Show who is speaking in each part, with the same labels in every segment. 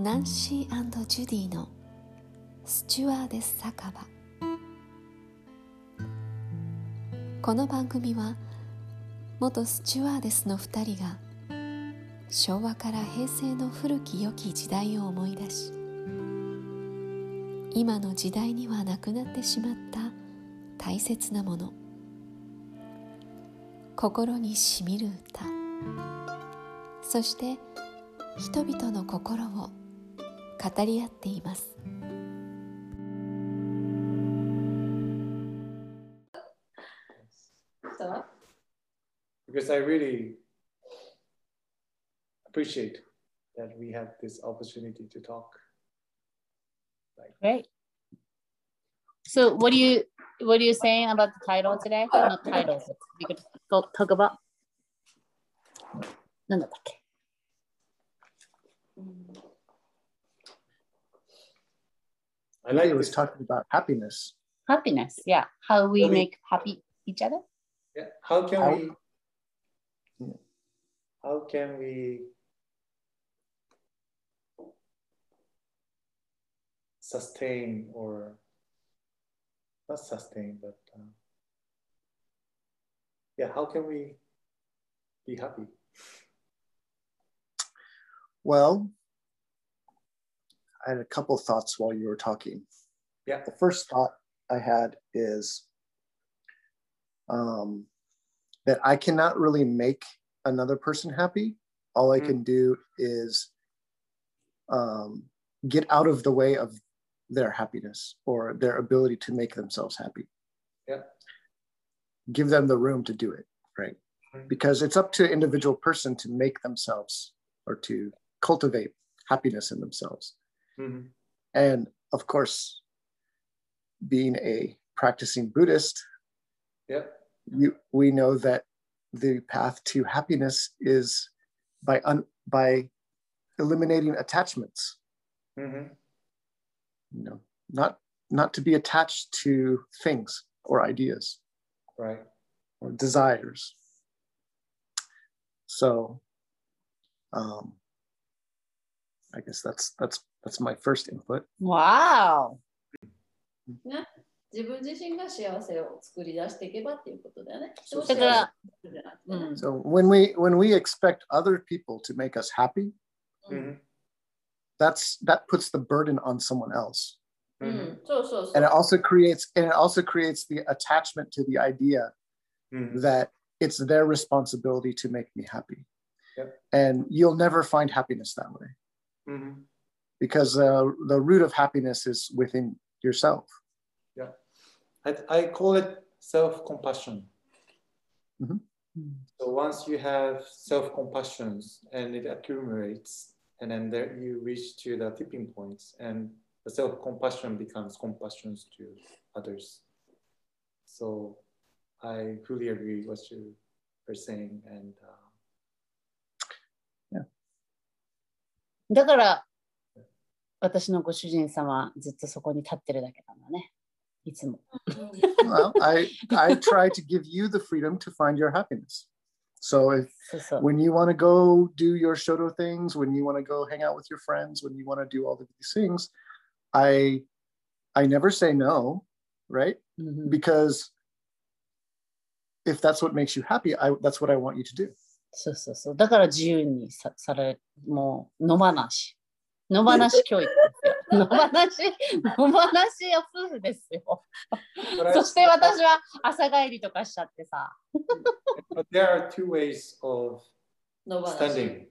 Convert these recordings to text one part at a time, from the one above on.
Speaker 1: ナンシー&ジュディのスチュワーデス酒場。この番組は元スチュワーデスの2人が昭和から平成の古き良き時代を思い出し、今の時代にはなくなってしまった大切なもの、心にしみる歌、そして人々の心を語り合っています。
Speaker 2: Because I really appreciate that we have this opportunity to talk.
Speaker 3: Great. So what are you saying about the title today? Not titles. We could talk about 何だったっけ?
Speaker 4: I like it was talking about happiness.
Speaker 3: Happiness, yeah. How we make happy each other.
Speaker 2: Yeah. How can we sustain, or not sustain, but how can we be happy?
Speaker 4: Well, I had a couple thoughts while you were talking.
Speaker 2: Yeah.
Speaker 4: The first thought I had is that I cannot really make another person happy. All I can do is get out of the way of their happiness or their ability to make themselves happy.
Speaker 2: Yeah.
Speaker 4: Give them the room to do it, right? Because it's up to an individual person to make themselves or to cultivate happiness in themselves.
Speaker 2: Mm-hmm.
Speaker 4: And of course, being a practicing Buddhist, we know that the path to happiness is by eliminating attachments.
Speaker 2: Mm-hmm.
Speaker 4: You know, not to be attached to things or ideas,
Speaker 2: right,
Speaker 4: or desires. So, I guess that's my first input.
Speaker 3: Wow.
Speaker 5: ね、自分自身が幸せを作り出していけばっていうことだよね。
Speaker 4: So when we expect other people to make us happy, that puts the burden on someone else. And it also creates the attachment to the idea that it's their responsibility to make me happy.
Speaker 2: Yep.
Speaker 4: And you'll never find happiness that way.
Speaker 2: Mm-hmm.
Speaker 4: Because the root of happiness is within yourself.
Speaker 2: Yeah, I call it self-compassion.
Speaker 4: Mm-hmm.
Speaker 2: So once you have self-compassion and it accumulates, and then there you reach to the tipping points, and the self-compassion becomes compassion to others. So I fully agree with what you were saying, and
Speaker 3: だから私のご主人様ずっとそこに立ってるだけなんだね。いつも。
Speaker 4: Well, I try to give you the freedom to find your happiness. So when you want to go do your shodo things, when you want to go hang out with your friends, when you want to do all of these things, I never say no, right?
Speaker 3: Mm-hmm.
Speaker 4: Because if that's what makes you happy, that's what I want you to do.
Speaker 3: そうそうそう。だから自由にされ、もう野放し教育ですよ。野放しよ夫婦ですよ。そして私は朝帰りとかしちゃってさ。
Speaker 2: But there are two ways of standing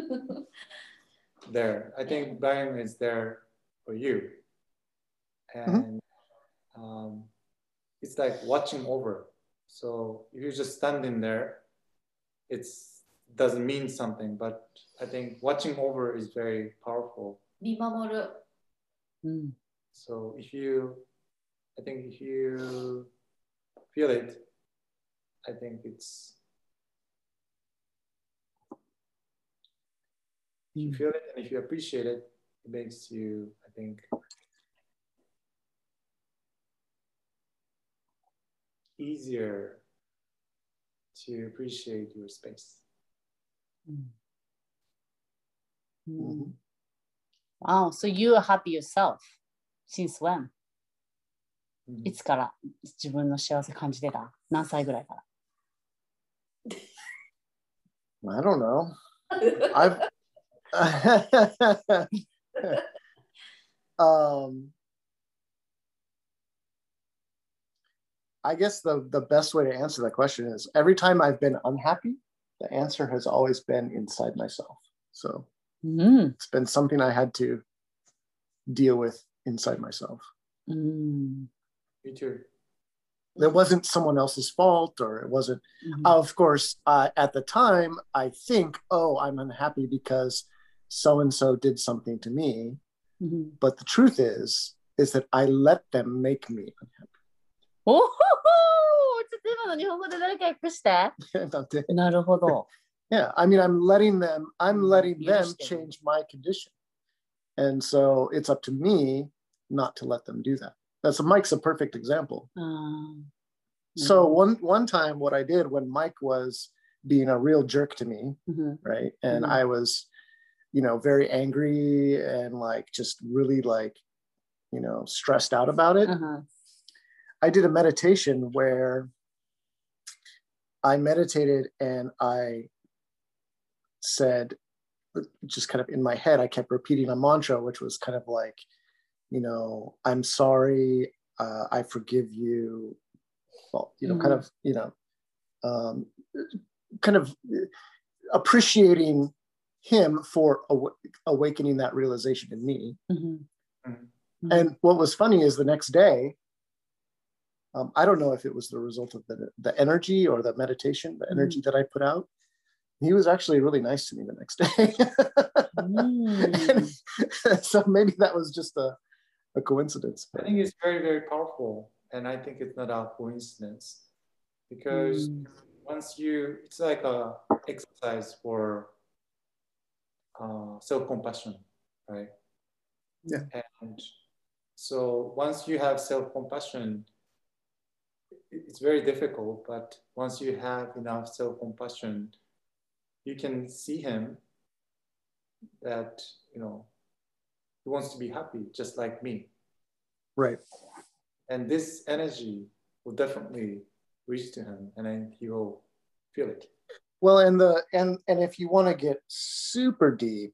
Speaker 2: there. I think Brian is there for you. And it's like watching over. So if you're just standing there, it doesn't mean something, but I think watching over is very powerful.
Speaker 5: 見守る。
Speaker 2: So if you feel it, I think if you feel it and if you appreciate it, it makes you, I think, easier to appreciate your space.
Speaker 4: Mm-hmm.
Speaker 3: Wow, so you are happy yourself. Since when?
Speaker 2: うん
Speaker 3: いつから自分の幸せ感じてた？何歳ぐらいから？
Speaker 4: I don't know. I've I guess the best way to answer that question is every time I've been unhappy, the answer has always been inside myself. So it's been something I had to deal with inside myself.
Speaker 2: Me too.
Speaker 4: It wasn't someone else's fault, or it wasn't, of course, at the time, I think, oh, I'm unhappy because so-and-so did something to me. But the truth is that I let them make me unhappy.
Speaker 3: おほほー、ちょっと今の日本語で誰か訳して。なるほど。
Speaker 4: Yeah, I mean, I'm letting them change my condition. And so it's up to me not to let them do that. Mike's a perfect example. So one time what I did when Mike was being a real jerk to me, right? And I was, very angry and like just really like, stressed out about it. I did a meditation where I meditated and I said, just kind of in my head, I kept repeating a mantra, which was kind of like, I'm sorry, I forgive you. Well, kind of appreciating him for awakening that realization in me. And what was funny is the next day, I don't know if it was the result of the energy or the meditation, the energy that I put out. He was actually really nice to me the next day. So maybe that was just a coincidence.
Speaker 2: I think it's very, very powerful. And I think it's not a coincidence. Because it's like a exercise for self-compassion, right?
Speaker 4: Yeah.
Speaker 2: And so once you have self-compassion, it's very difficult, but once you have enough self-compassion, you can see him that, he wants to be happy, just like me.
Speaker 4: Right.
Speaker 2: And this energy will definitely reach to him, and then he will feel it.
Speaker 4: Well, and if you want to get super deep,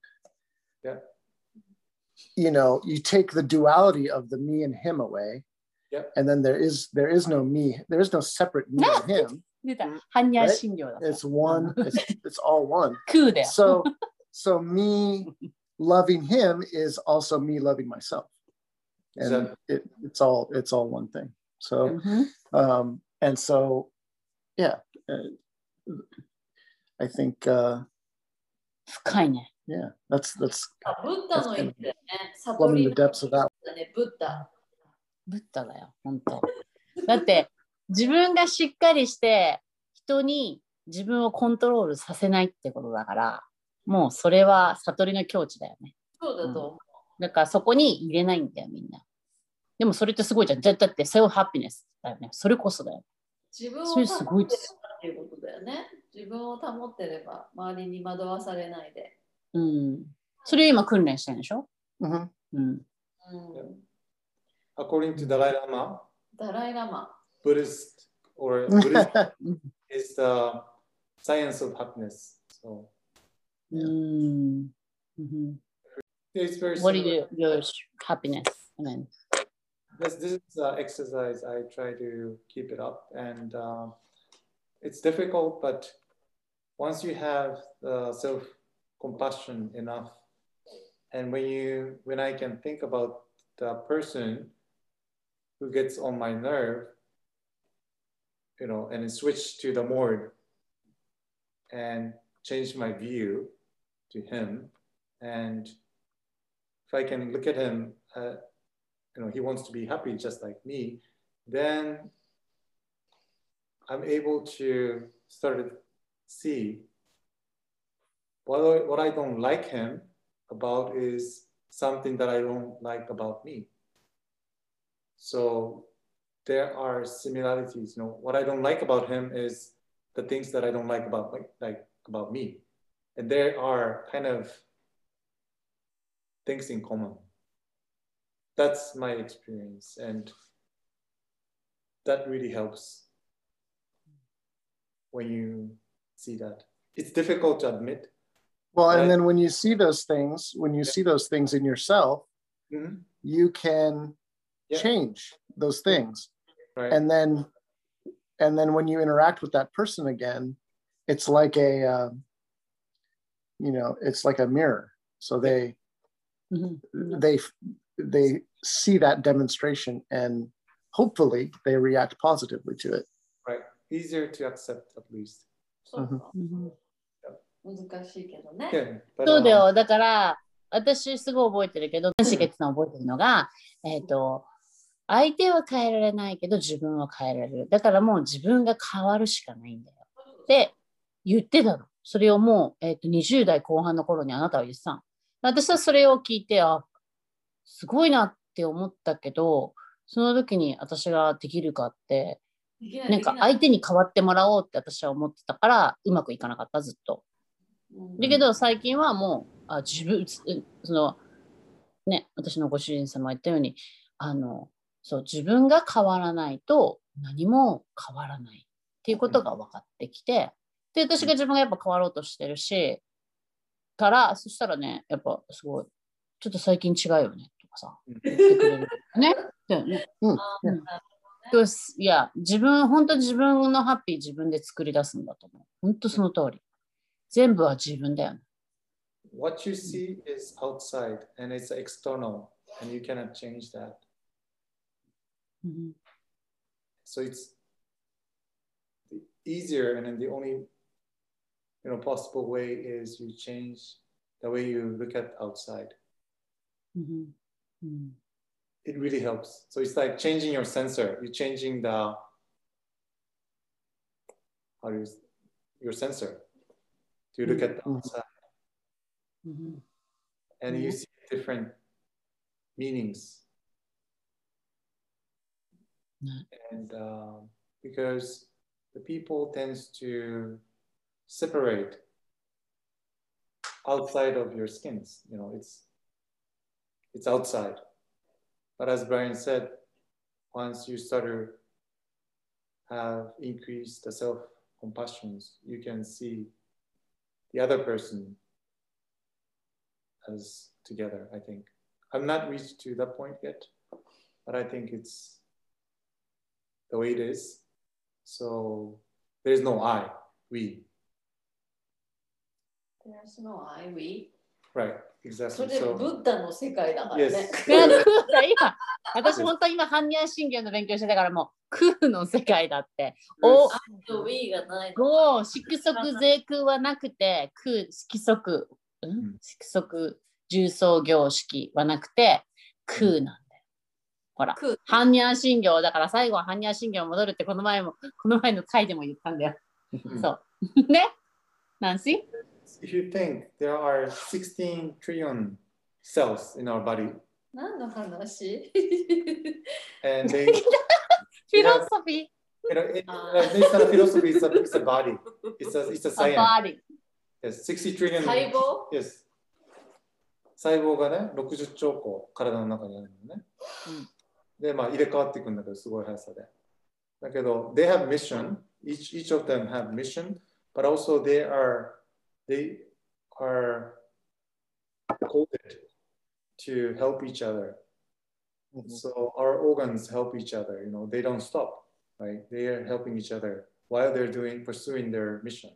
Speaker 4: you take the duality of the me and him away. And then there is no me, there is no separate me and him. Right? It's one, it's all one. So me loving him is also me loving myself. And it's all one thing. So and so I think yeah, that's
Speaker 5: ブッダの言ってね、
Speaker 4: plumbing the depths of that.
Speaker 5: ブッダ
Speaker 3: だよ、本当。だって自分がしっかりして人に自分をコントロールさせないってことだから、もうそれは悟りの境地だよね。
Speaker 5: そうだと思う。
Speaker 3: だからそこに入れないんだよ、みんな。でもそれってすごいじゃん。だってセルフハピネスだよね。それこそだよ。
Speaker 5: 自分を保ってればっていうことだよね。自分を保ってれば、周りに惑わされないで。
Speaker 3: それを今訓練してるんでしょ
Speaker 2: According to Dalai Lama,
Speaker 5: Buddhist
Speaker 2: is the science of happiness. So, it's very
Speaker 3: What is your happiness? I mean,
Speaker 2: this is exercise. I try to keep it up, and it's difficult. But once you have self-compassion enough, and when I can think about the person who gets on my nerve, and switch to the mode and change my view to him, and if I can look at him, he wants to be happy just like me, then I'm able to start to see what I don't like him about is something that I don't like about me. So there are similarities. What I don't like about him is the things that I don't like about me. And there are kind of things in common. That's my experience, and that really helps when you see that. It's difficult to admit.
Speaker 4: Well, and then when you see those things, in yourself, you can change those things.
Speaker 2: Right.
Speaker 4: And then when you interact with that person again, it's like it's like a mirror. So they see that demonstration, and hopefully they react positively to it.
Speaker 2: Right. Easier to accept, at least.
Speaker 5: 難しいけどね。
Speaker 3: そうだよ。だから、私すごい覚えてるけど、しげつの覚えてるのが、相手は変えられないけど自分は変えられる。だからもう自分が変わるしかないんだよ。って言ってたの。それをもう、20代後半の頃にあなたは言ってたの。私はそれを聞いて、すごいなって思ったけど、その時に私ができるかって、なんか相手に変わってもらおうって私は思ってたから、うまくいかなかった、ずっと。だけど最近はもう自分私のご主人様言ったようにそう自分が変わらないと何も変わらないっていうことが分かってきて、で私が自分がやっぱ変わろうとしてるしからそしたらねやっぱすごいちょっと最近違うよねとかさ言ってくれるね。いや本当に自分のハッピー自分で作り出すんだと思う。本当その通り。全部は自分だよね。
Speaker 2: What you see is outside and it's external and you cannot change that. So it's easier and then the only possible way is you change the way you look at outside. It really helps. So it's like changing your sensor. You're changing your sensor. You look at the outside and you see different meanings. And because the people tends to separate outside of your skins, it's outside. But as Brian said, once you start to have increased the self-compassions, you can see the other person as together, I think. I'm not reached to that point yet, but I think it's the way it is. So there's no I, we.
Speaker 5: There's no I, we.
Speaker 2: Right, exactly.
Speaker 5: それブッダの世界だからね。
Speaker 3: 私本当に今般若心経の勉強してたからもう空の世界だって。
Speaker 5: we がない
Speaker 3: の。色即是空はなくて色即重層形式はなくて空なんだよ。ほら般若心経だから最後は般若心経に戻るってこの前の回でも言ったんだよ。そうね。Nancy?
Speaker 2: If you think there are 16 trillion cells in our body.
Speaker 5: 何の話
Speaker 2: And they
Speaker 3: philosophy.
Speaker 2: Based on philosophy, it's a body. It's a science.
Speaker 3: A body.
Speaker 2: Yes, 60 trillion.
Speaker 5: 細胞
Speaker 2: Yes. 細胞がね、60兆個体の中にあるのね。で、入れ替わっていくんだけど、すごい速さで。だけど、they have mission. Each of them have mission, but also they are coded to help each other. So our organs help each other. They don't stop, right? They are helping each other while they're pursuing their mission.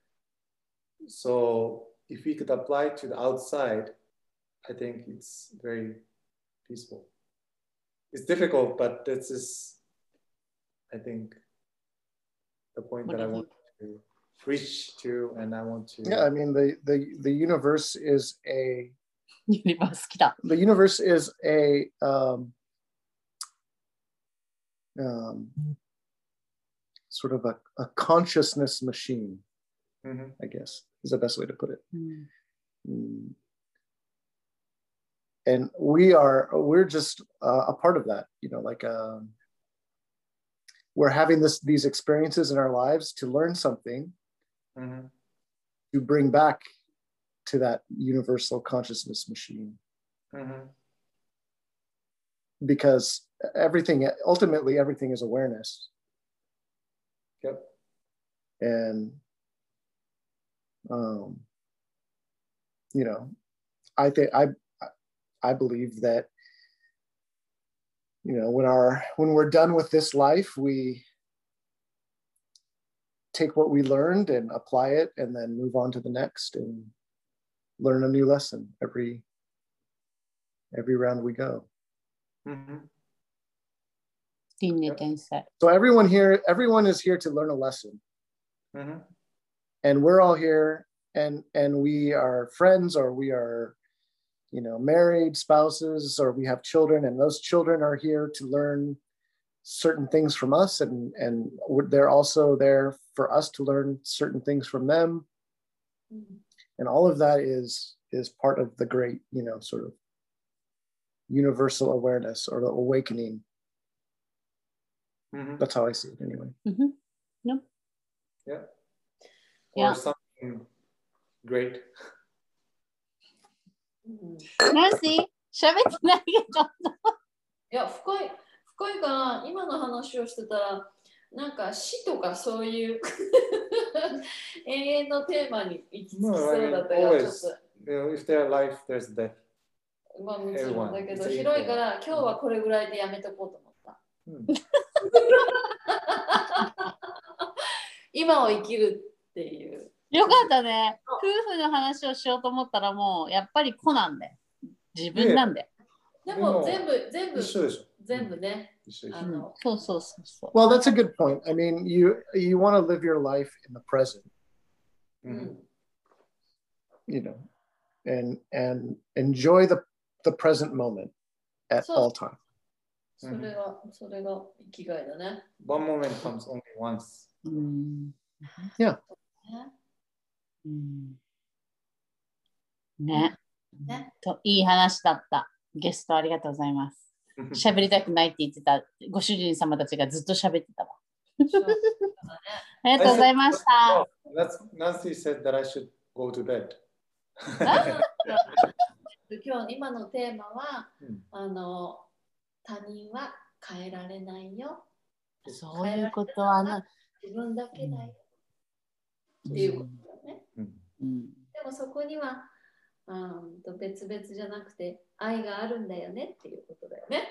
Speaker 2: So if we could apply to the outside, I think it's very peaceful. It's difficult, but this is, I think, the point that I want to reach to, and I want to.
Speaker 4: Yeah, I mean the universe is a.
Speaker 3: The
Speaker 4: universe is a sort of a consciousness machine. I guess is the best way to put it. And we're just a part of that, we're having these experiences in our lives to learn something, to bring back to that universal consciousness machine.
Speaker 2: Mm-hmm.
Speaker 4: Because ultimately everything is awareness.
Speaker 2: Yep.
Speaker 4: And, you know, I believe that, you know, when we're done with this life, we take what we learned and apply it and then move on to the next and learn a new lesson every round we go.
Speaker 2: Mm-hmm.
Speaker 4: So everyone is here to learn a lesson.
Speaker 2: Mm-hmm.
Speaker 4: And we're all here and we are friends, or we are, you know, married spouses, or we have children, and those children are here to learn certain things from us, and they're also there for us to learn certain things from them.
Speaker 5: Mm-hmm.
Speaker 4: And all of that is part of the great, you know, sort of universal awareness or the awakening.
Speaker 2: Mm-hmm.
Speaker 4: That's how I see it anyway.
Speaker 3: Mm-hmm. Yep.
Speaker 2: Yeah.
Speaker 3: Yeah.
Speaker 2: Or something great.
Speaker 3: ナンシー、喋ってないけど。
Speaker 5: いや、深いから、今の話をしてたら、なんか死とかそういう永遠のテーマに行き着きそうだったけど、ちょっと。
Speaker 2: If there's life, there's death.
Speaker 5: まあもちろんだけど、広いから、今日はこれぐらいでやめとこうと思った。今を生きるっていう。
Speaker 3: よかったね。夫婦の話をしようと思ったらもうやっぱり子なんで。自分なんで。
Speaker 5: でも全部
Speaker 2: 一緒でしょ。
Speaker 5: 全部ね。
Speaker 3: そうそう。
Speaker 4: Well, that's a good point. I mean, you want to live your life in the present. You know, and enjoy the present moment at all time.
Speaker 5: それが生きがいだね。
Speaker 2: One moment comes only once.
Speaker 4: Yeah.
Speaker 3: ね。といい話だった。ゲストありがとうございます。喋りたくないって言ってたご主人様たちがずっと喋ってたわ。ありがとうございました。
Speaker 2: Nancy said that I should go to bed.
Speaker 5: 今のテーマは、他人は変えられないよ。
Speaker 3: そういうことは
Speaker 5: 自分だけだよ。っていうことだね。でもそこには別々じゃなくて愛があるんだよねっていうことだよね。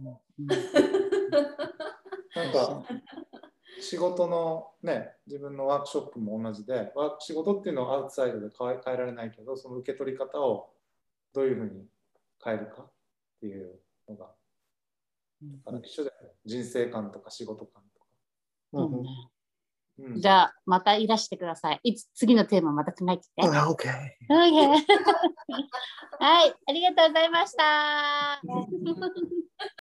Speaker 2: なんか仕事のね、自分のワークショップも同じで、仕事っていうのはアウトサイドで変えられないけど、その受け取り方をどういうふうに変えるかっていうのが、一緒だよね。人生観とか仕事観とか。
Speaker 3: じゃあまたいらしてください。次のテーマまた考えてて。
Speaker 4: Okay.
Speaker 3: はい、ありがとうございました。